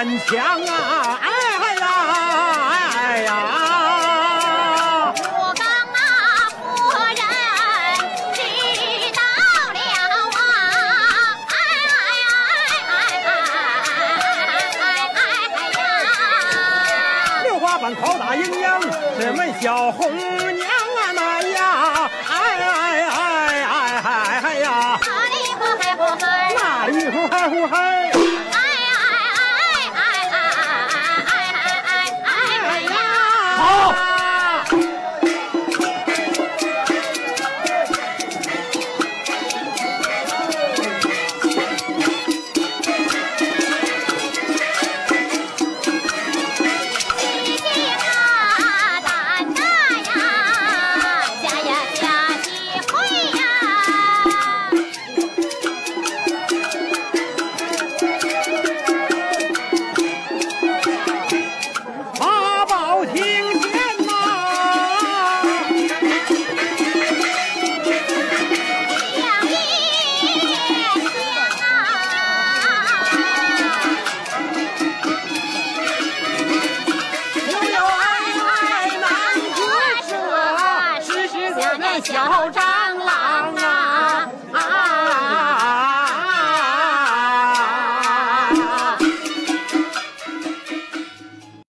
官腔啊！哎呀，哎呀！ 我刚那夫人知道了啊！ 刘花板口大营养，是门小红娘啊！那呀，哎呀！ 哪里呼嗨呼嗨？ 哪里呼嗨呼嗨？好。 小张。